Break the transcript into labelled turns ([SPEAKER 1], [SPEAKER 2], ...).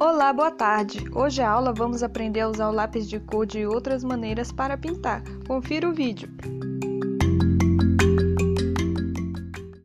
[SPEAKER 1] Olá, boa tarde! Hoje a aula vamos aprender a usar o lápis de cor de outras maneiras para pintar. Confira o vídeo.